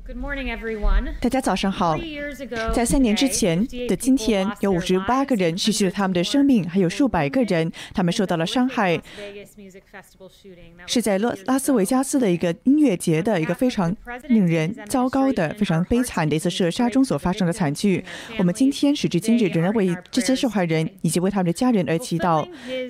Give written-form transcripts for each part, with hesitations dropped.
大家早上好。在3年之前的今天，有58个人失去了他们的生命，还有数百个人他们受到了伤害。是在拉斯维加斯的一个音乐节的一个非常令人糟糕的、非常悲惨的一次射杀中所发生的惨剧。我们今天时至今日仍然为这些受害人以及为他们的家人而祈祷。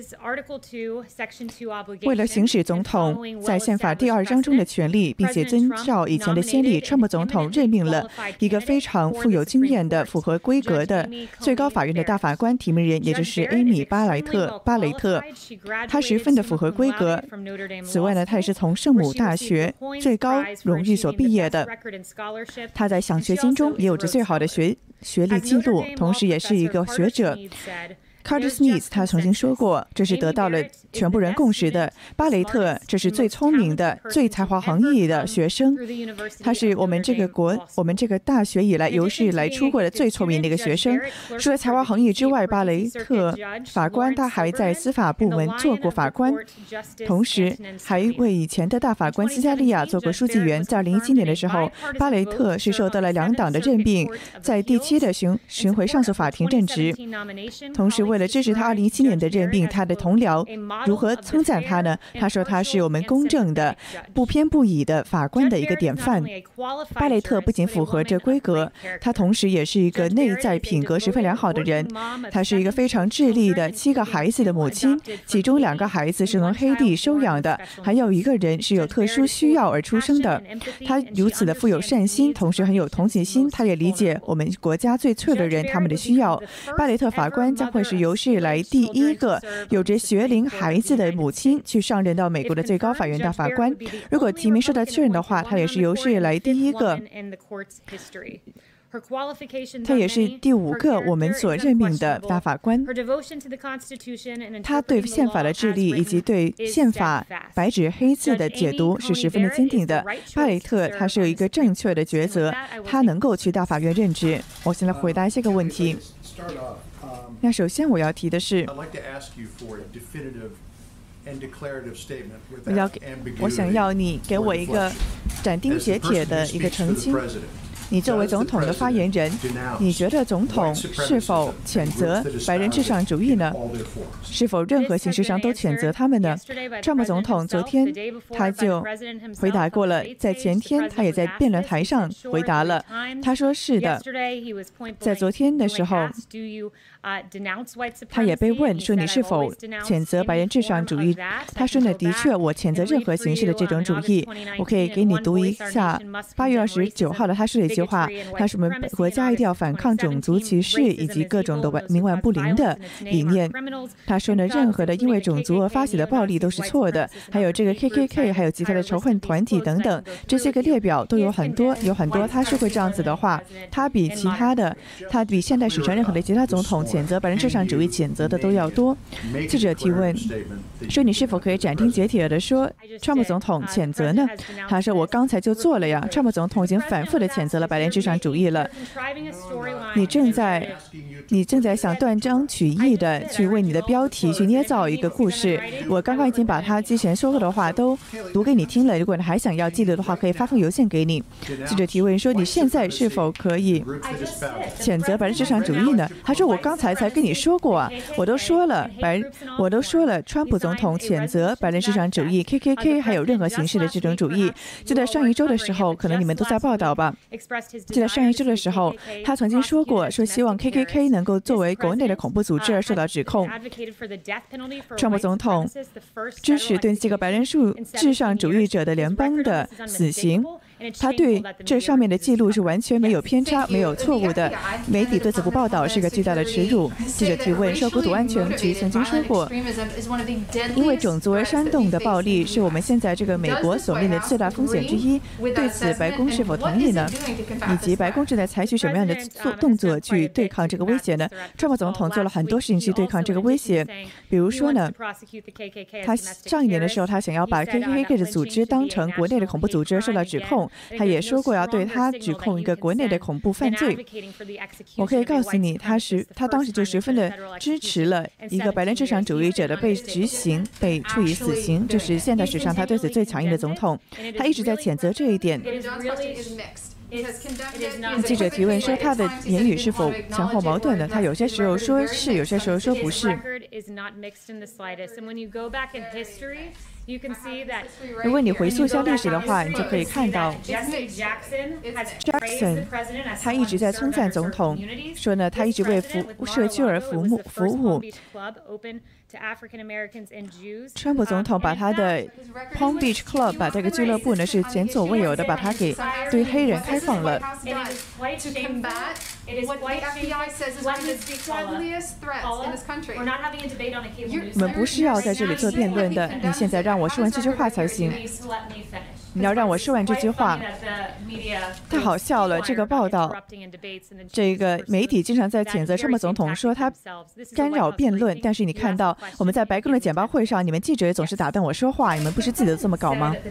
为了行使总统在宪法第2章中的权利，并且遵照以前的先例，川普总统任命了一个非常富有经验的、符合规格的最高法院的大法官提名人，也就是艾米·巴雷特。他十分的符合规格。此外呢，他也是从圣母大学最高荣誉所毕业的。他在奖学金中也有着最好的学历记录，同时也是一个学者。Carter Smith 他曾经说过，这是得到了全部人共识的。巴雷特这是最聪明的、最才华横溢的学生，他是我们这个大学以来有史以来出过的最聪明的一个学生。除了才华横溢之外，巴雷特法官他还在司法部门做过法官，同时还为以前的大法官斯嘉利亚做过书记员。在2017年的时候，巴雷特是受到了2党的任命，在第7的巡回上诉法庭任职。同时为了支持他2017年的任命，他的同僚如何称赞他呢？他说他是我们公正的、不偏不倚的法官的一个典范。巴雷特不仅符合这规格，他同时也是一个内在品格十分良好的人。他是一个非常智力的7个孩子的母亲，其中2个孩子是从黑地收养的，还有1个人是有特殊需要而出生的。他如此的富有善心，同时很有同情心，他也理解我们国家最脆弱的人他们的需要。巴雷特法官将会是有史以来第1个有着学龄孩子的母亲去上任到美国的最高法院大法官。如果提名受到确认的话，他也是有史以来第1个，他也是第5个我们所任命的大法官。他对宪法的智力以及对宪法白纸黑字的解读是十分的坚定的。巴雷特他是有一个正确的抉择，他能够去大法院任职。我现在回答这个问题。那首先我要提的是，我想要你给我一个斩钉截铁的一个澄清。你作为总统的发言人，你觉得总统是否谴责白人至上主义呢？是否任何形式上都谴责他们呢？川普总统昨天他就回答过了，在前天他也在辩论台上回答了，他说是的。在昨天的时候，他也被问说你是否谴责白人至上主义，他说呢，的确我谴责任何形式的这种主义。我可以给你读一下8月29号的他说的一句话，他说我们国家一定要反抗种族歧视以及各种的冥顽不灵的理念。他说呢，任何的因为种族而发起的暴力都是错的，还有这个 KKK 还有其他的仇恨团体等等，这些个列表都有很多。他说过这样子的话，他比现代史上任何的其他总统谴责白人至上主义谴责的都要多。记者提问说，你是否可以斩钉截铁的说川普总统谴责呢？他说我刚才就做了呀，川普总统已经反复的谴责了白人至上主义了。你正在想断章取义的去为你的标题去捏造一个故事。我刚刚已经把他之前说过的话都读给你听了，如果你还想要记录的话，可以发封邮件给你。记者提问说，你现在是否可以谴责白人至上主义呢？他说我刚才才跟你说过啊，我都说了川普总统谴责白人至上主义 KKK 还有任何形式的这种主义。就在上一周的时候，可能你们都在报道吧，就在上一周的时候，他曾经说过，说希望 KKK 能够作为国内的恐怖组织而受到指控。川普总统支持对这个白人至上主义者的联邦的死刑。他对这上面的记录是完全没有偏差、没有错误的。媒体对此不报道是个巨大的耻辱。记者提问说，国土安全局曾经说过，因为种族而煽动的暴力是我们现在这个美国所面临的最大风险之一。对此，白宫是否同意呢？以及白宫正在采取什么样的动作去对抗这个威胁呢？川普总统做了很多事情去对抗这个威胁，比如说呢，他上一年的时候，他想要把 KKK 的组织当成国内的恐怖组织受到指控。 统，他也说过要对他指控一个国内的恐怖犯罪。我可以告诉你，他当时就十分的支持了一个白人至上主义者的被执行、被处以死刑，这是现代史上他对此最强硬的总统。他一直在谴责这一点。记者提问说他的言语是否前后矛盾的，他有些时候说是，有些时候说不是。如果你回溯一下历史的话，你就可以看到 Jackson 他一直在称赞总统，说呢他一直为社区而服务。川普总统把他的 Palm Beach Club 把这个俱乐部呢是前所未有的把它给对黑人开放了。我们不是要在这里做辩论的，你现在让我说完这句话才行。你要让我说完这句话，太好笑了。这个报道，这个媒体经常在谴责川普总统，说他干扰辩论。但是你看到我们在白宫的简报会上，你们记者也总是打断我说话，你们不是记得这么搞吗？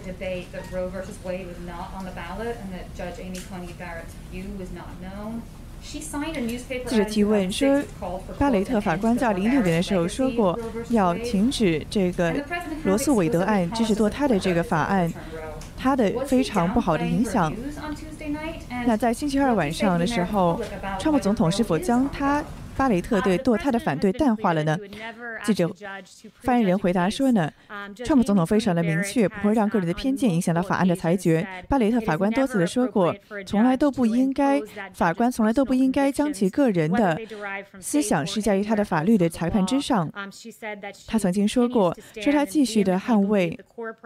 记者提问说，巴雷特法官在2016年的时候说过要停止这个罗诉韦德案支持堕胎的这个法案，它的非常不好的影响。那在星期二晚上的时候，川普总统是否将巴雷特对堕胎的反对淡化了呢？记者发言人回答说呢，川普总统非常的明确，不会让个人的偏见影响到法案的裁决。巴雷特法官多次的说过，法官从来都不应该将其个人的思想施加于他的法律的裁判之上。他曾经说过，他继续的捍卫，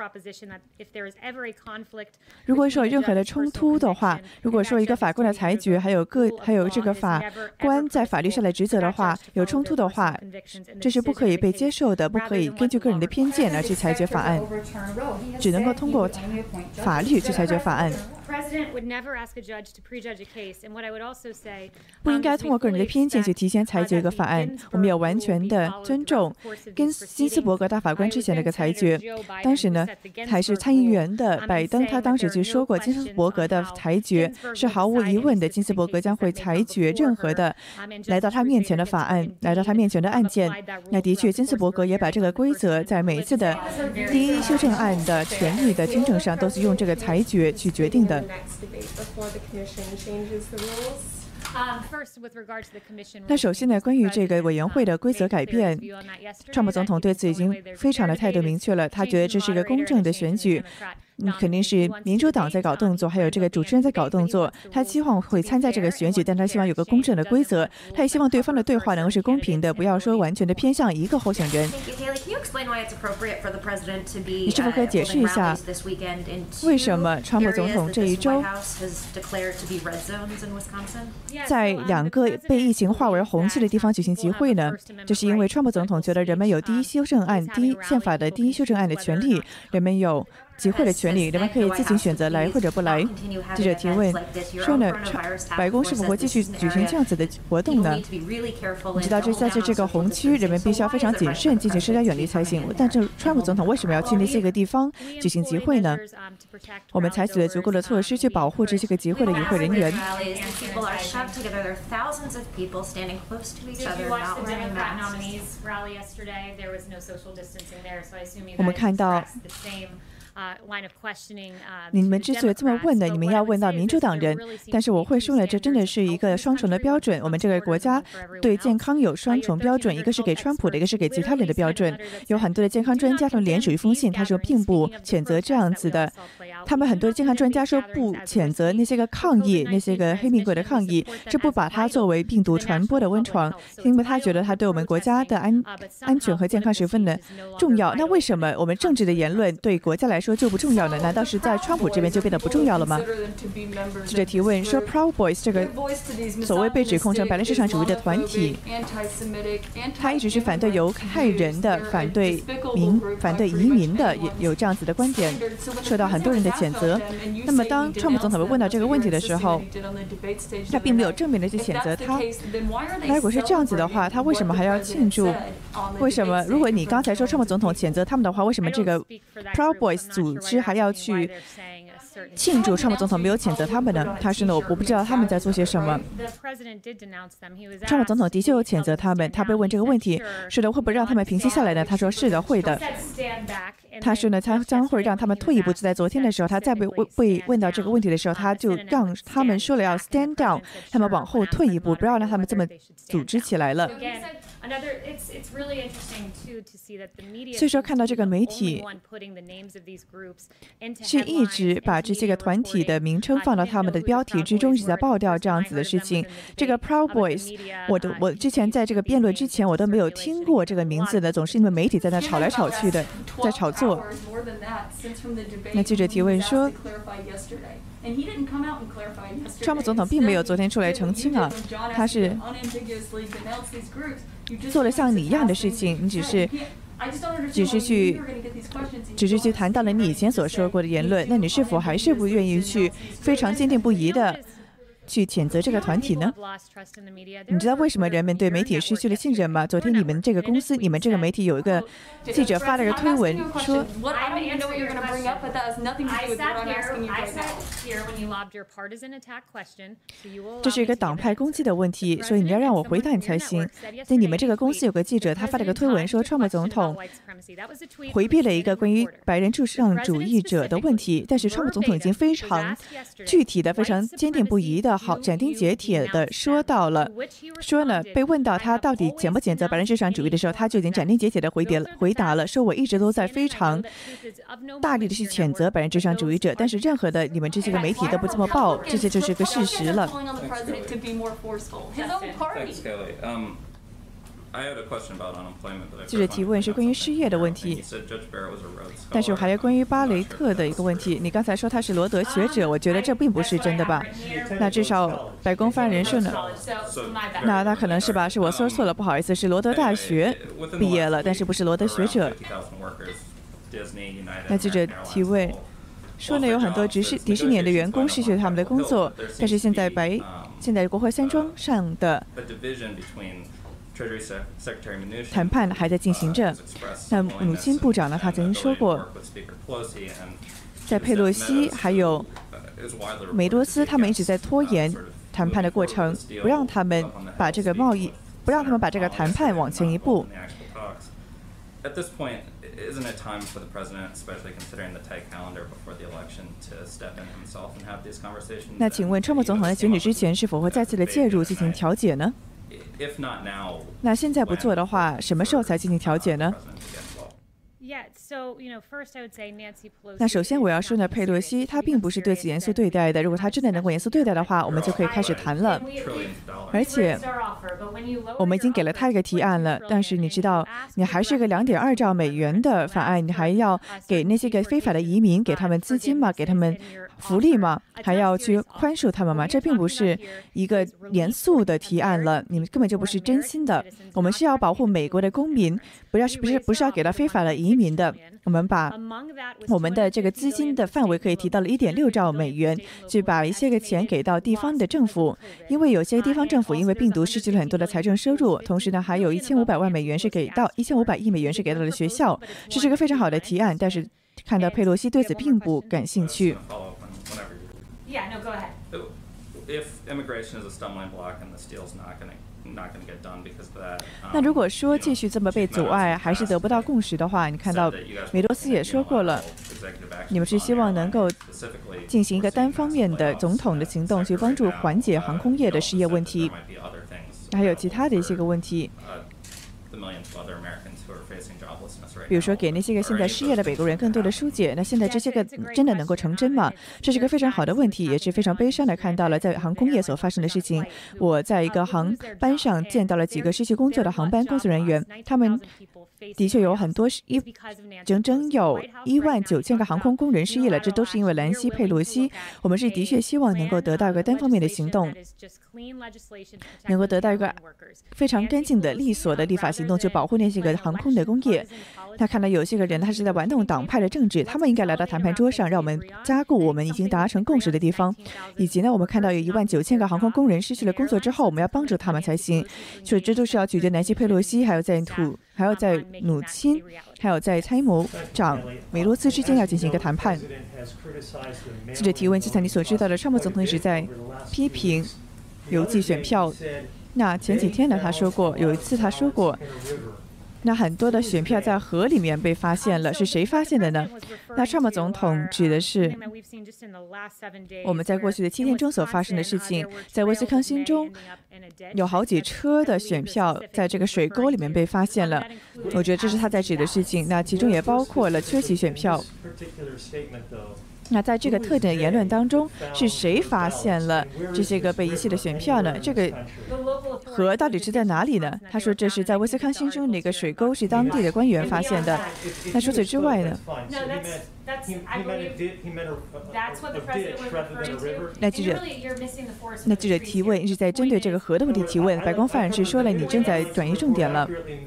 如果说有任何的冲突的话，如果说一个法官的裁决还有这个法官在法律上的职责的话有冲突的话，这是不可以被接受的，不可以根据个人的偏见而去裁决法案，只能够通过法律去裁决法案。不应该通过个人的偏见去提前裁决一个法案。我们要完全的尊重跟金斯伯格大法官之前的一个裁决。当时呢，还是参议员的拜登，他当时就说过，金斯伯格的裁决是毫无疑问的，金斯伯格将会裁决任何的来到他面前的法案，来到他面前的案件。那的确，金斯伯格也把这个规则在每一次的第一修正案的权利的听证上都是用这个裁决去决定的。那首先呢，关于这个委员会的规则改变，川普总统对此已经非常的态度明确了，他觉得这是一个公正的选举。肯定是民主党在搞动作，还有这个主持人在搞动作。他希望会参加这个选举，但他希望有个公正的规则。他也希望对方的对话能够是公平的，不要说完全的偏向一个候选人。你是否可以解释一下，为什么川普总统这一周在2个被疫情划为红区的地方举行集会呢？这是因为川普总统觉得人们有宪法的第一修正案的权利，人们有集会的权利，人们可以自行选择来或者不来。记者提问说呢，白宫是否会继续举行这样子的活动呢？你知道，在这个红区，人们必须要非常谨慎进行社交远离才行。但是川普总统为什么要去那些个地方举行集会呢？我们采取了足够的措施去保护这些个集会的与会人员。我们看到你们之所以这么问呢，你们要问到民主党人，但是我会说呢，这真的是一个双重的标准。我们这个国家对健康有双重标准，一个是给川普的，一个是给其他人的标准。有很多的健康专家他们联署一封信，他说并不谴责这样子的。他们很多的健康专家说不谴责那些个抗议，那些个黑命贵的抗议，这不把它作为病毒传播的温床，因为他觉得他对我们国家的安全和健康十分的重要。那为什么我们政治的言论对国家来说就不重要呢？难道是在川普这边就变得不重要了吗？记者提问说 Proud Boys 这个所谓被指控成白人至上主义的团体，他一直是反对犹太人的，反对移民的，也有这样子的观点，受到很多人的谴责。那么当川普总统被问到这个问题的时候，他并没有正面的去谴责他。那如果是这样子的话，他为什么还要庆祝？为什么如果你刚才说川普总统谴责他们的话，为什么这个 Proud Boys 组织还要去庆祝川普总统没有谴责他们呢？他说呢，我不知道他们在做些什么。川普总统的确有谴责他们。他被问这个问题，说的会不会让他们平息下来呢？他说是的，会的。他说呢，他将会让他们退一步。就在昨天的时候，他再被问到这个问题的时候，他就让他们说了要 stand down， 他们往后退一步，不要让他们这么组织起来了。所以说，看到这个媒体是一直把这些个团体的名称放到他们的标题之中，一直在爆料这样子的事情。这个 Proud Boys， 我之前在这个辩论之前我都没有听过这个名字的，总是因为媒体在那吵来吵去的，在炒作。那记者提问说，川普总统并没有昨天出来澄清啊，他是做了像你一样的事情，你只是去谈到了你以前所说过的言论，那你是否还是不愿意去非常坚定不移的去谴责这个团体呢？你知道为什么人们对媒体失去了信任吗？昨天你们这个公司，你们这个媒体有一个记者发了个推文说，这是一个党派攻击的问题，所以你要让我回答你才行。在你们这个公司有个记者，他发了个推文说，川普总统回避了一个关于白人至上主义者的问题，但是川普总统已经非常具体的、非常坚定不移的、好斩钉截铁的说呢，被问到他到底谴不谴责白人至上主义的时候，他就已经斩钉截铁的回答了，说我一直都在非常大力的去谴责白人至上主义者，但是任何的你们这些个媒体都不这么报，这些就是个事实了。记者提问是关于失业的问题，但是还有关于巴雷特的一个问题。你刚才说他是罗德学者，我觉得这并不是真的吧？那至少白宫发言人说呢，那可能是吧？是我说错了，不好意思，是罗德大学毕业了，但是不是罗德学者。那记者提问说呢，有很多迪士尼的员工失去了他们的工作，但是现在国会山庄上的谈判还在进行着。那努钦部长呢，他曾经说过，在佩洛西还有梅多斯他们一直在拖延谈判的过程，不让他们把这个谈判往前一步。那请问川普总统在选举之前是否会再次的介入进行调解呢？那现在不做的话，什么时候才进行调解呢？那首先我要说呢，佩洛西她并不是对此严肃对待的。如果她真的能够严肃对待的话，我们就可以开始谈了。而且我们已经给了她一个提案了，但是你知道，你还是一个2.2兆美元的法案，你还要给那些个非法的移民给他们资金吗？给他们福利吗？还要去宽恕他们吗？这并不是一个严肃的提案了，你们根本就不是真心的。我们是要保护美国的公民，不是要给到非法的移民的。我们把我们的这个资金的范围可以提到了1.6兆美元，去把一些个钱给到地方的政府，因为有些地方政府因为病毒失去了很多的财政收入，同时呢还有1500万美元是给到1500亿美元是给到了学校，这是一个非常好的提案，但是看到佩洛西对此并不感兴趣。那如果说继续这么被阻碍，还是得不到共识的话，你看到梅多斯也说过了，你们是希望能够进行一个单方面的总统的行动，去帮助缓解航空业的失业问题，还有其他的一些个问题。比如说给那些个现在失业的美国人更多的疏解，那现在这些个真的能够成真吗？这是个非常好的问题，也是非常悲伤的看到了在航空业所发生的事情。我在一个航班上见到了几个失去工作的航班工作人员，他们的确有很多整整有19000个航空工人失业了，这都是因为兰西佩洛西。我们是的确希望能够得到一个单方面的行动，能够得到一个非常干净的利索的立法行动，去保护那些个航空的工业。他看到有些个人他是在玩弄党派的政治，他们应该来到谈判桌上，让我们加固我们已经达成共识的地方。以及呢，我们看到有19000个航空工人失去了工作之后，我们要帮助他们才行。所以这都是要取决南希佩洛西，还有在努钦，还有在参谋长梅罗斯之间要进行一个谈判。记者提问：就像你所知道的，川普总统一直在批评邮寄选票。那前几天呢，他说过，有一次他说过，那很多的选票在河里面被发现了，是谁发现的呢？那川普总统指的是我们在过去的7天中所发生的事情，在威斯康星州有好几车的选票在这个水沟里面被发现了，我觉得这是他在指的事情。那其中也包括了缺席选票。那在这个特定的言论当中，是谁发现了这些个被遗弃的选票呢？这个河到底是在哪里呢？他说这是在威斯康星州的一个水沟，是当地的官员发现的。那除此之外呢？那记者提问是在针对这个河的问题提问。白宫发言人说了，你正在转移重点了。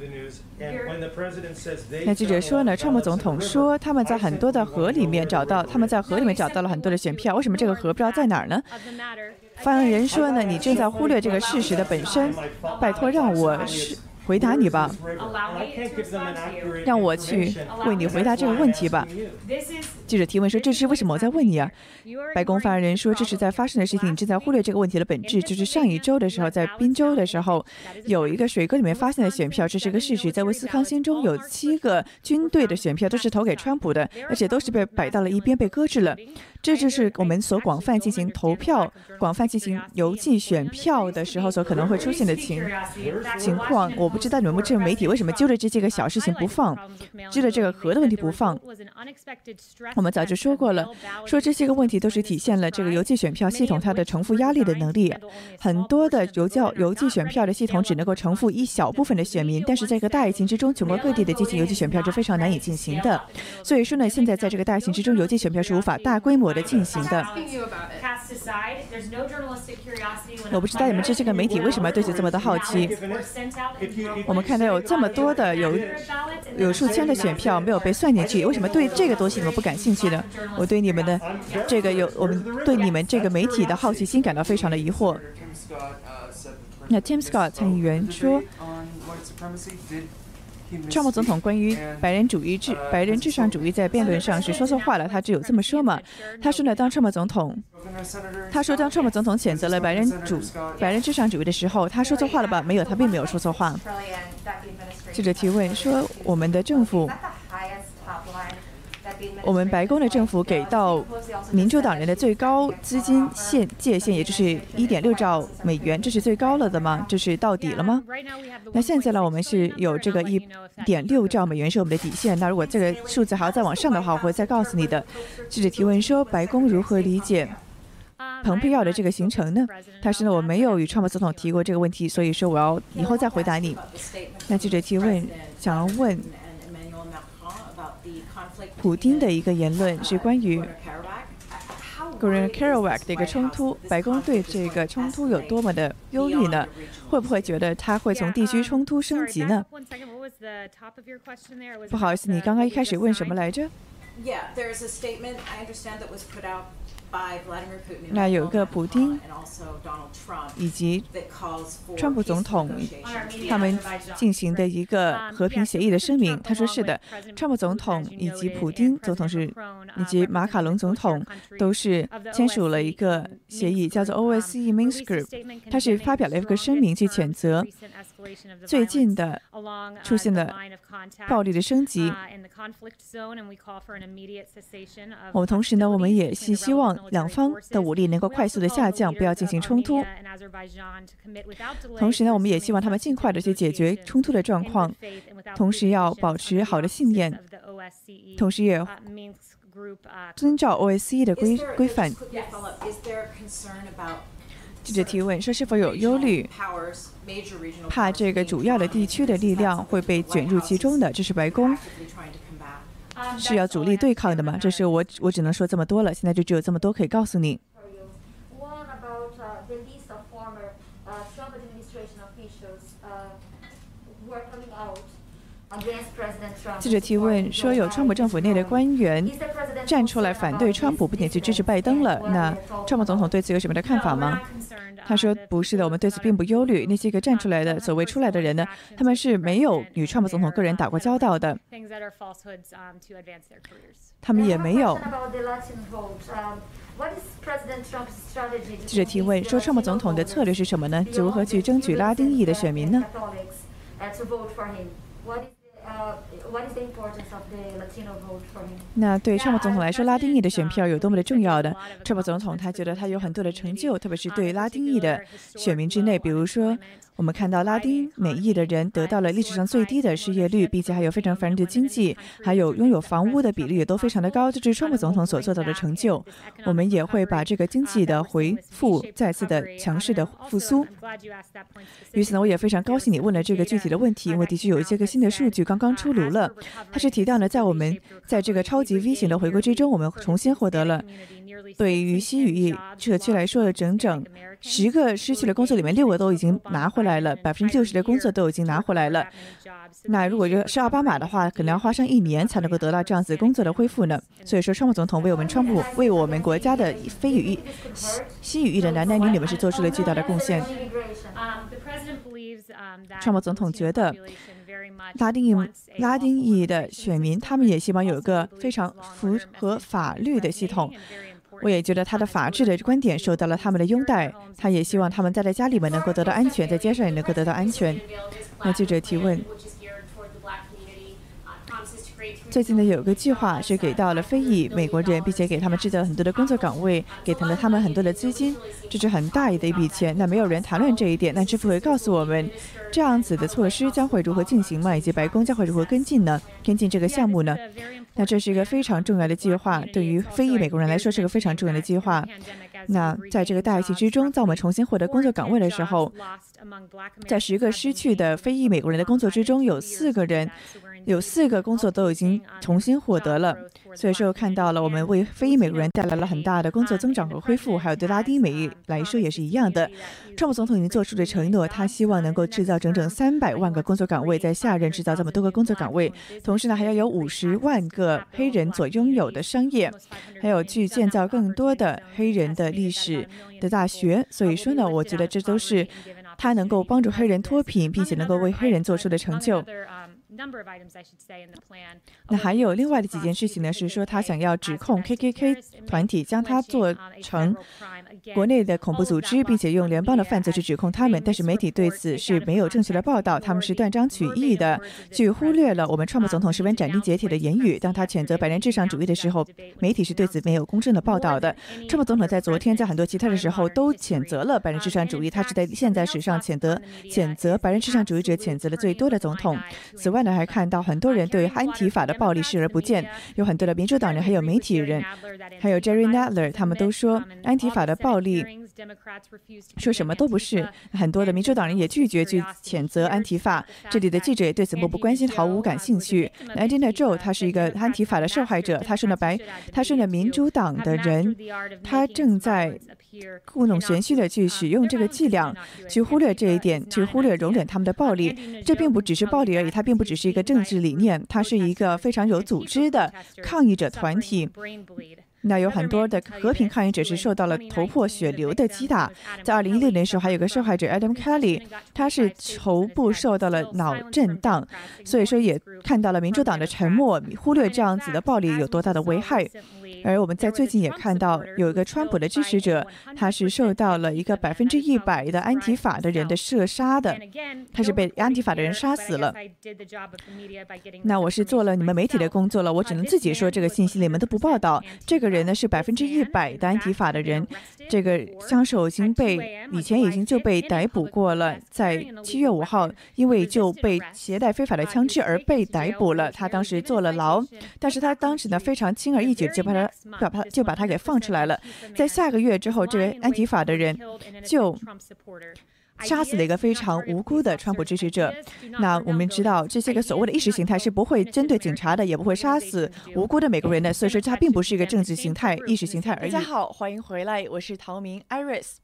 那记者说呢，川普总统说他们在很多的河里面找到，了很多的选票，为什么这个河不知道在哪儿呢？发言人说呢，你正在忽略这个事实的本身，拜托让我回答你吧，让我去为你回答这个问题吧。记者提问说：“这是为什么我在问你啊？”白宫发言人说：“这是在发生的事情，你正在忽略这个问题的本质。就是上一周的时候，在宾州的时候，有一个水沟里面发现的选票，这是个事实。在威斯康星中有7个军队的选票都是投给川普的，而且都是被摆到了一边，被搁置了。这就是我们所广泛进行投票、广泛进行邮寄选票的时候所可能会出现的情况。我不知道你们这媒体为什么揪着这些个小事情不放，揪着这个河的问题不放。我们早就说过了，说这些个问题都是体现了这个邮寄选票系统它的承负压力的能力。很多的邮寄选票的系统只能够承负一小部分的选民，但是在这个大疫情之中，全国各地的进行邮寄选票是非常难以进行的。所以说呢，现在在这个大疫情之中，邮寄选票是无法大规模的进行的。我不知道你们这些个媒体为什么对此这么的好奇。我们看到有这么多的有数千的选票没有被算进去，为什么对这个东西你们不感兴趣呢？我对你们的我们对你们这个媒体的好奇心感到非常的疑惑。那 Tim Scott 参议员说，川普总统关于白人至上主义在辩论上是说错话了，他只有这么说嘛？他说呢，当川普总统谴责了白人至上主义的时候，他说错话了吧？没有，他并没有说错话。记者提问说，我们白宫的政府给到民主党人的最高资金界限，也就是1.6兆美元，这是最高了的吗？这是到底了吗？那现在呢，我们是有这个1.6兆美元是我们的底线。那如果这个数字还要再往上的话，我会再告诉你的。记者提问说，白宫如何理解蓬佩奥的这个行程呢？他说呢，我没有与川普总统提过这个问题，所以说我要以后再回答你。那记者提问想要问普丁的一个言论是关于 Nagorno-Karabakh 的一个冲突，白宫对这个冲突有多么的忧虑呢？会不会觉得它会从地区冲突升级呢？不好意思，你刚刚一开始问什么来着？那有一个普丁以及川普总统他们进行的一个和平协议的声明，他说是的，川普总统以及普丁总统以及马卡龙总统都是签署了一个协议，叫做 OSCE Minsk Group， 他是发表了一个声明去谴责最近的出现的暴力的升级。我们同时呢，我们也是希望两方的武力能够快速的下降，不要进行冲突。同时呢，我们也希望他们尽快的去解决冲突的状况，同时要保持好的信念，同时也遵照 OSCE 的规范。记者提问说，是否有忧虑，怕这个主要的地区的力量会被卷入其中的？这是白宫是要主力对抗的吗？这是我只能说这么多了，现在就只有这么多可以告诉你。 记者提问说，有川普政府内的官员站出来反对川普，并且去支持拜登了。那川普总统对此有什么的看法吗？他说：“不是的，我们对此并不忧虑。那些个站出来的所谓出来的人呢，他们是没有与川普总统个人打过交道的，他们也没有。”记者提问说：“川普总统的策略是什么呢？如何去争取拉丁裔的选民呢？”那对川普总统来说，拉丁裔的选票有多么的重要的？川普总统他觉得他有很多的成就，特别是对拉丁裔的选民之内，比如说我们看到拉丁美裔的人得到了历史上最低的失业率，并且还有非常繁荣的经济，还有拥有房屋的比例也都非常的高，这是川普总统所做到的成就。我们也会把这个经济的回复再次的强势的复苏。于此呢，我也非常高兴你问了这个具体的问题，因为的确有一些个新的数据刚刚出炉了。它是提到呢，在我们在这个超级 V 型的回归之中，我们重新获得了对于西语裔社区来说的整整10个失去了工作里面6个都已经拿回来了，60%的工作都已经拿回来了。那如果是奥巴马的话，可能要花上1年才能够得到这样子工作的恢复呢。所以说，川普总统为我们国家的非语裔、西语裔的男男女女们是做出了巨大的贡献。川普总统觉得拉丁裔的选民，他们也希望有一个非常符合法律的系统。我也觉得他的法治的观点受到了他们的拥戴，他也希望他们在家里面能够得到安全，在街上也能够得到安全。那记者提问，最近呢有个计划是给到了非裔美国人，并且给他们制造了很多的工作岗位，给了他们很多的资金，这是很大的一笔钱。那没有人谈论这一点，那支付会告诉我们这样子的措施将会如何进行吗？以及白宫将会如何跟进这个项目呢？那这是一个非常重要的计划，对于非裔美国人来说是个非常重要的计划。那在这个大疫情之中，在我们重新获得工作岗位的时候，在10个失去的非裔美国人的工作之中，有4个工作都已经重新获得了。所以说看到了我们为非裔美国人带来了很大的工作增长和恢复，还有对拉丁美裔来说也是一样的。川普总统已经做出了承诺，他希望能够制造整整300万个工作岗位，在下任制造这么多个工作岗位，同时呢还要有50万个黑人所拥有的商业，还有去建造更多的黑人的历史的大学。所以说呢，我觉得这都是他能够帮助黑人脱贫，并且能够为黑人做出的成就。那还有另外的几件事情呢，是说他想要指控 KKK 团体，将它做成国内的恐怖组织，并且用联邦的犯罪去指控他们。但是媒体对此是没有正确的报道，他们是断章取义的，去忽略了我们川普总统十分斩钉截铁的言语。当他谴责白人至上主义的时候，媒体是对此没有公正的报道的。川普总统在昨天在很多其他的时候都谴责了白人至上主义，他是在现在史上谴责白人至上主义者谴责的最多的总统。此外呢，还看到很多人对安提法的暴力视而不见，有很多的民主党人还有媒体人还有 Jerry Nadler 他们都说安提法的暴力说什么都不是。很多的民主党人也拒绝去谴责安提法，这里的记者也对此漠不关心，毫无感兴趣。Anthony Joe 他是一个安提法的受害者，他是呢民主党的人，他正在故弄玄虚的去使用这个伎俩，去忽略这一点，去忽略容忍他们的暴力。这并不只是暴力而已，它并不只是一个政治理念，它是一个非常有组织的抗议者团体。那有很多的和平抗议者是受到了头破血流的击打。在2016年的时候，还有个受害者 Adam Kelly， 他是头部受到了脑震荡。所以说也看到了民主党的沉默，忽略这样子的暴力有多大的危害。而我们在最近也看到有一个川普的支持者，他是受到了一个100%的安提法的人的射杀的，他是被安提法的人杀死了。那我是做了你们媒体的工作了，我只能自己说这个信息，你们都不报道。这个人呢是100%的安提法的人，这个枪手以前已经就被逮捕过了，在7月5号因为就被携带非法的枪支而被逮捕了，他当时坐了牢，但是他当时呢非常轻而易举就把他给放出来了。在下个月之后，这位安提法的人就杀死了一个非常无辜的川普支持者。那我们知道这些个所谓的意识形态是不会针对警察的，也不会杀死无辜的美国人的，所以说它并不是一个政治形态、意识形态而已。大家好，欢迎回来，我是陶明 Iris。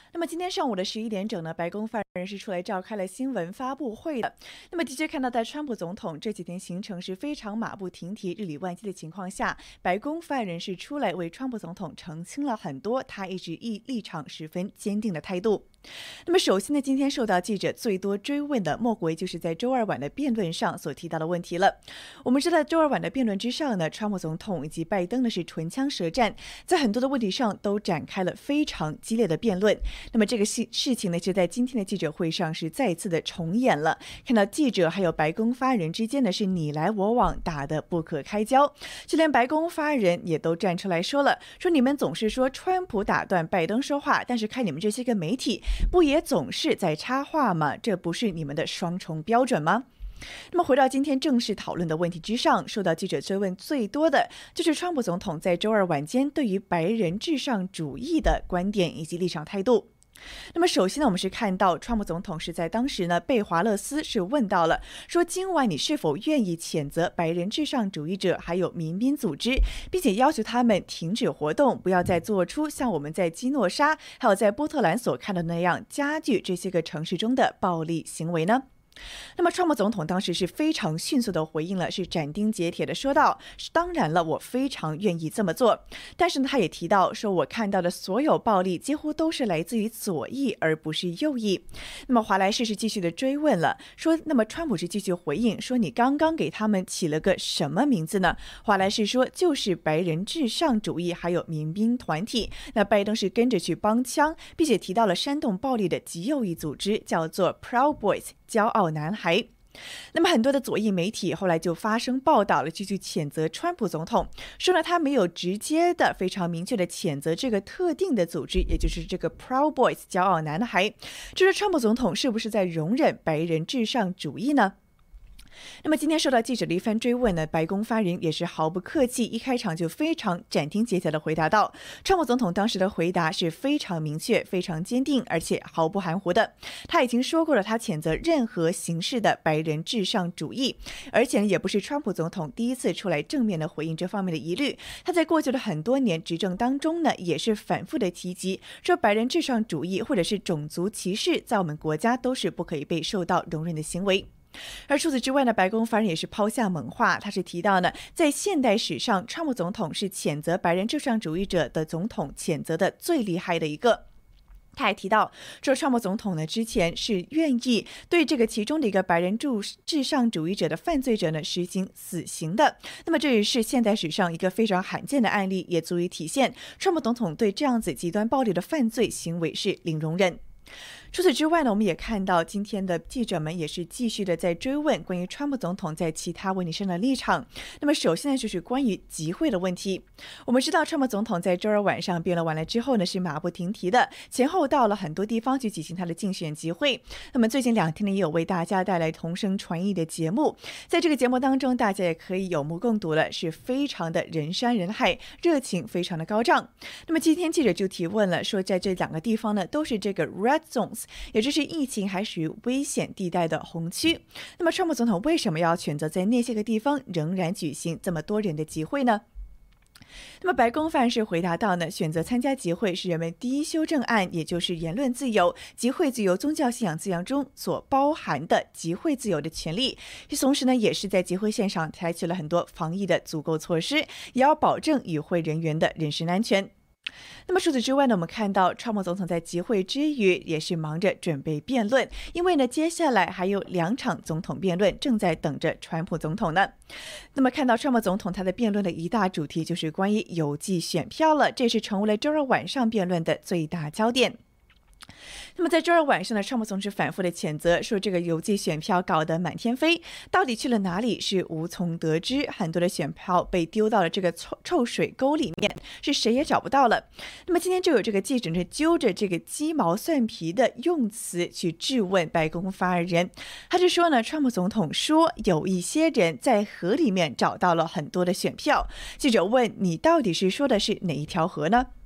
那么今天上午的11点整呢，白宫发言人是出来召开了新闻发布会的。那么的确看到，在川普总统这几天行程是非常马不停蹄、日理万机的情况下，白宫发言人是出来为川普总统澄清了很多他一直立场十分坚定的态度。那么首先呢，今天受到记者最多追问的，莫过于就是在周二晚的辩论上所提到的问题了。我们知道，周二晚的辩论之上呢，川普总统以及拜登呢是唇枪舌战，在很多的问题上都展开了非常激烈的辩论。那么这个事情呢，就在今天的记者会上是再次的重演了。看到记者还有白宫发言人之间呢是你来我往，打得不可开交。就连白宫发言人也都站出来说了，说你们总是说川普打断拜登说话，但是看你们这些个媒体不也总是在插话吗？这不是你们的双重标准吗？那么回到今天正式讨论的问题之上，受到记者追问最多的就是川普总统在周二晚间对于白人至上主义的观点以及立场态度。那么首先呢，我们是看到川普总统是在当时呢被华勒斯是问到了，说今晚你是否愿意谴责白人至上主义者还有民兵组织，并且要求他们停止活动，不要再做出像我们在基诺沙还有在波特兰所看到的那样加剧这些个城市中的暴力行为呢？那么川普总统当时是非常迅速的回应了，是斩钉截铁的说道，当然了，我非常愿意这么做。但是呢，他也提到说，我看到的所有暴力几乎都是来自于左翼而不是右翼。那么华莱士是继续的追问了，说那么川普是继续回应说，你刚刚给他们起了个什么名字呢？华莱士说就是白人至上主义还有民兵团体。那拜登是跟着去帮腔，并且提到了煽动暴力的极右翼组织叫做 Proud Boys 骄傲男孩。那么很多的左翼媒体后来就发声报道了，继续谴责川普总统，说呢他没有直接的非常明确的谴责这个特定的组织，也就是这个 Proud Boys 骄傲男孩。这说川普总统是不是在容忍白人至上主义呢？那么今天受到记者的一番追问呢，白宫发言人也是毫不客气，一开场就非常斩钉截铁的回答道，川普总统当时的回答是非常明确、非常坚定，而且毫不含糊的。他已经说过了，他谴责任何形式的白人至上主义，而且也不是川普总统第一次出来正面的回应这方面的疑虑。他在过去的很多年执政当中呢，也是反复的提及说，白人至上主义或者是种族歧视，在我们国家都是不可以被受到容忍的行为。而除此之外呢，白宫发言人也是抛下猛话，他是提到呢，在现代史上，川普总统是谴责白人至上主义者的总统谴责的最厉害的一个。他还提到说，川普总统呢之前是愿意对这个其中的一个白人至上主义者的犯罪者呢实行死刑的。那么这也是现代史上一个非常罕见的案例，也足以体现川普总统对这样子极端暴力的犯罪行为是零容忍。除此之外呢，我们也看到今天的记者们也是继续的在追问关于川普总统在其他问题上的立场。那么首先呢，就是关于集会的问题。我们知道川普总统在周二晚上辩论完了之后呢，是马不停蹄的前后到了很多地方去进行他的竞选集会。那么最近2天呢，也有为大家带来同声传译的节目，在这个节目当中，大家也可以有目共睹了，是非常的人山人海，热情非常的高涨。那么今天记者就提问了，说在这2个地方呢，都是这个 Red Zones，也就是疫情还属于危险地带的红区。那么川普总统为什么要选择在那些个地方仍然举行这么多人的集会呢？那么白宫发言人回答到呢，选择参加集会是人们第一修正案，也就是言论自由、集会自由、宗教信仰自由中所包含的集会自由的权利。同时呢，也是在集会现场采取了很多防疫的足够措施，也要保证与会人员的人身安全。那么除此之外呢，我们看到川普总统在集会之余也是忙着准备辩论，因为呢接下来还有2场总统辩论正在等着川普总统呢。那么看到川普总统他的辩论的一大主题就是关于邮寄选票了，这是成为了周二晚上辩论的最大焦点。那么在周二晚上呢，川普总是反复的谴责说，这个邮寄选票搞得满天飞，到底去了哪里是无从得知，很多的选票被丢到了这个臭水沟里面，是谁也找不到了。那么今天就有这个记者呢揪着这个鸡毛蒜皮的用词去质问白宫发言人，他就说呢，川普总统说有一些人在河里面找到了很多的选票。记者问，你到底是说的是哪一条河呢？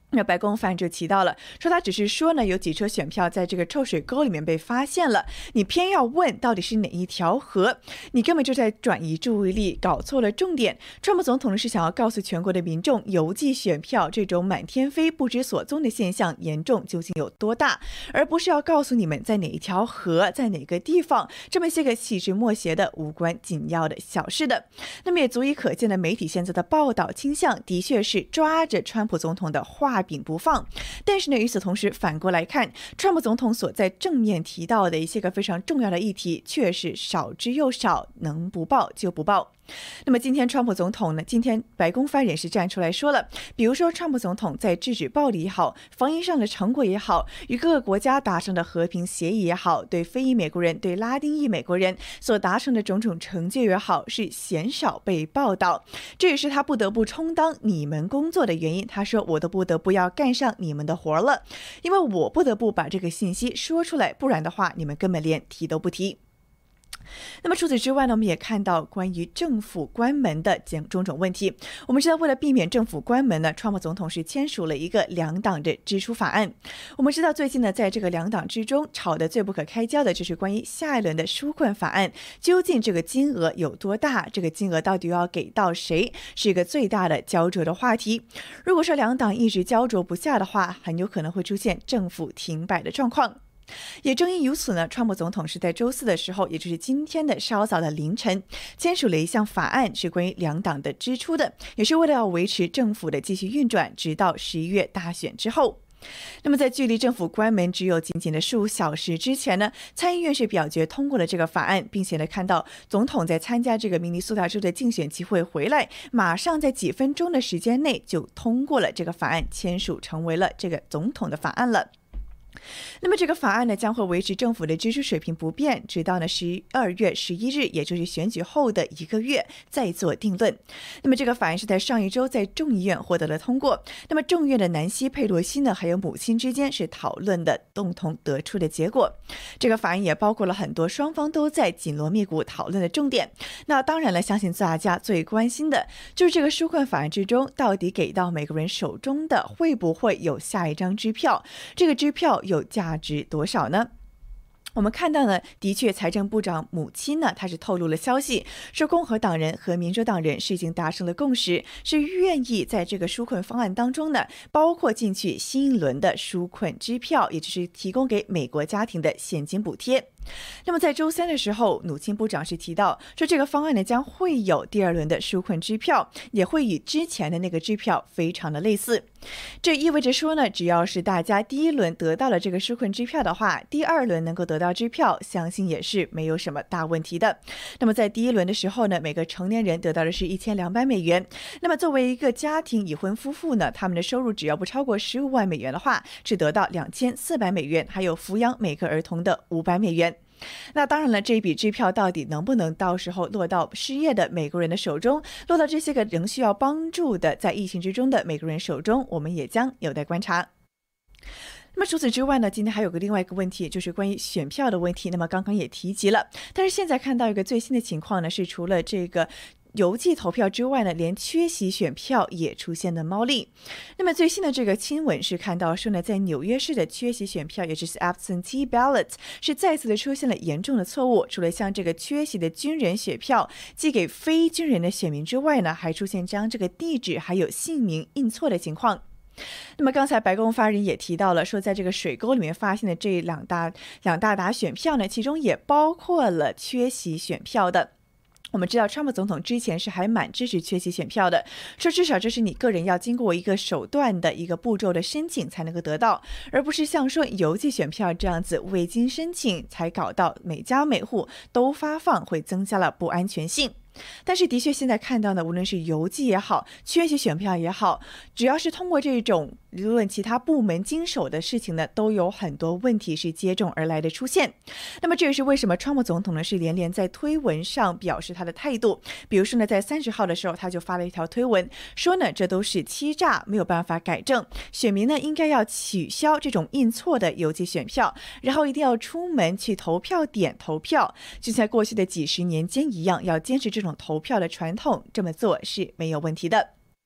那白宫发言就提到了，说他只是说呢，有几车选票在这个臭水沟里面被发现了，你偏要问到底是哪一条河，你根本就在转移注意力，搞错了重点。川普总统是想要告诉全国的民众，邮寄选票这种满天飞、不知所踪的现象严重究竟有多大，而不是要告诉你们在哪一条河，在哪个地方，这么些个细枝末节的无关紧要的小事的。那么也足以可见的媒体现在的报道倾向，的确是抓着川普总统的话柄不放。但是呢，与此同时反过来看，川普总统所在正面提到的一些个非常重要的议题却是少之又少，能不报就不报。那么今天川普总统呢，今天白宫发言人是站出来说了，比如说川普总统在制止暴力也好，防疫上的成果也好，与各个国家达成的和平协议也好，对非裔美国人、对拉丁裔美国人所达成的种种成就也好，是鲜少被报道，这也是他不得不充当你们工作的原因。他说，我都不得不要干上你们的活了，因为我不得不把这个信息说出来，不然的话你们根本连提都不提。那么除此之外呢，我们也看到关于政府关门的种种问题。我们知道，为了避免政府关门呢，川普总统是签署了一个两党的支出法案。我们知道，最近呢，在这个两党之中吵得最不可开交的就是关于下一轮的纾困法案，究竟这个金额有多大，这个金额到底要给到谁，是一个最大的焦灼的话题。如果说两党一直焦灼不下的话，很有可能会出现政府停摆的状况。也正因如此呢，川普总统是在周四的时候，也就是今天的稍早的凌晨，签署了一项法案，是关于两党的支出的，也是为了要维持政府的继续运转，直到11月大选之后。那么在距离政府关门只有仅仅的15小时之前呢，参议院是表决通过了这个法案，并且呢看到总统在参加这个明尼苏达州的竞选集会回来，马上在几分钟的时间内就通过了这个法案，签署成为了这个总统的法案了。那么这个法案呢，将会维持政府的支出水平不变，直到呢12月11日，也就是选举后的1个月再做定论。那么这个法案是在上一周在众议院获得了通过。那么众议院的南希·佩洛西呢，还有母亲之间是讨论的，共同得出的结果。这个法案也包括了很多双方都在紧锣密鼓讨论的重点。那当然了，相信大家最关心的就是这个纾困法案之中，到底给到每个人手中的会不会有下一张支票？这个支票有价值多少呢？我们看到呢，的确财政部长母亲呢，她是透露了消息，说共和党人和民主党人是已经达成了共识，是愿意在这个纾困方案当中呢，包括进去新一轮的纾困支票，也就是提供给美国家庭的现金补贴。那么在周三的时候，努钦部长是提到说，这个方案呢将会有第二轮的纾困支票，也会与之前的那个支票非常的类似。这意味着说呢，只要是大家第一轮得到了这个纾困支票的话，第二轮能够得到支票，相信也是没有什么大问题的。那么在第一轮的时候呢，每个成年人得到的是1200美元。那么作为一个家庭已婚夫妇呢，他们的收入只要不超过15万美元的话，是得到2400美元，还有抚养每个儿童的500美元。那当然了，这一笔支票到底能不能到时候落到失业的美国人的手中，落到这些个仍需要帮助的在疫情之中的美国人手中，我们也将有待观察。那么除此之外呢，今天还有个另外一个问题，就是关于选票的问题。那么刚刚也提及了，但是现在看到一个最新的情况呢，是除了这个邮寄投票之外呢，连缺席选票也出现了猫腻。那么最新的这个新闻是看到说呢，在纽约市的缺席选票，也就是 absentee ballot， 是再次的出现了严重的错误。除了像这个缺席的军人选票寄给非军人的选民之外呢，还出现将这个地址还有姓名印错的情况。那么刚才白宫发言人也提到了，说在这个水沟里面发现的这两大沓选票呢，其中也包括了缺席选票的。我们知道川普总统之前是还蛮支持缺席选票的，说至少这是你个人要经过一个手段的一个步骤的申请才能够得到，而不是像说邮寄选票这样子未经申请才搞到每家每户都发放，会增加了不安全性。但是的确现在看到呢，无论是邮寄也好，缺席选票也好，只要是通过这种无论其他部门经手的事情呢，都有很多问题是接踵而来的出现。那么这也是为什么川普总统呢是连连在推文上表示他的态度。比如说呢，在30号的时候，他就发了一条推文，说呢这都是欺诈，没有办法改正，选民呢应该要取消这种印错的邮寄选票，然后一定要出门去投票点投票，就像过去的几十年间一样，要坚持这种投票的传统，这么做是没有问题的。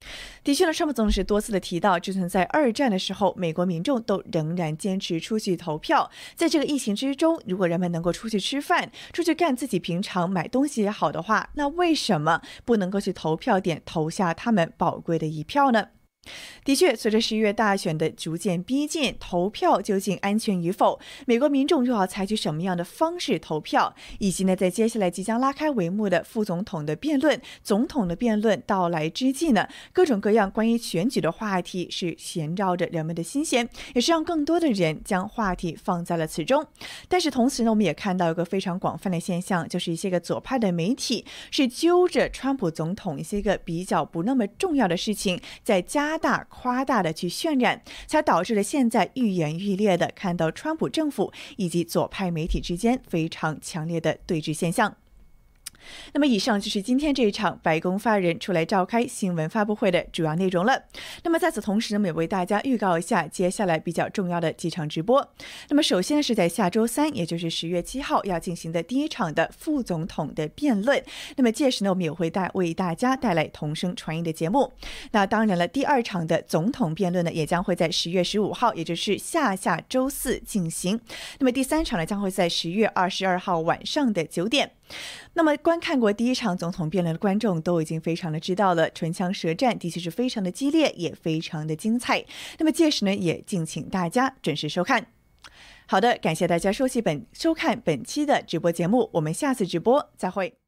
的确呢，川普总统是多次的提到，就算在二战的时候，美国民众都仍然坚持出去投票。在这个疫情之中，如果人们能够出去吃饭、出去干自己平常买东西也好的话，那为什么不能够去投票点投下他们宝贵的一票呢？的确，随着11月大选的逐渐逼近，投票究竟安全与否，美国民众又要采取什么样的方式投票，以及呢，在接下来即将拉开帷幕的副总统的辩论、总统的辩论到来之际呢，各种各样关于选举的话题是闲绕着人们的心弦，也是让更多的人将话题放在了此中。但是同时呢，我们也看到一个非常广泛的现象，就是一些个左派的媒体是揪着川普总统一些个比较不那么重要的事情，在加大夸大的去渲染，才导致了现在愈演愈烈的看到川普政府以及左派媒体之间非常强烈的对峙现象。那么以上就是今天这一场白宫发言人出来召开新闻发布会的主要内容了。那么在此同时呢，也为大家预告一下接下来比较重要的几场直播。那么首先呢，是在下周3，也就是10月7号要进行的第一场的副总统的辩论。那么届时呢，我们也会为大家带来同声传译的节目。那当然了，第二场的总统辩论呢，也将会在10月15号，也就是下周4进行。那么第三场呢，将会在10月22号晚上的9点。那么观看过第一场总统辩论的观众都已经非常的知道了，唇枪舌战的确是非常的激烈，也非常的精彩。那么届时呢，也敬请大家准时收看。好的，感谢大家收看本期的直播节目，我们下次直播再会。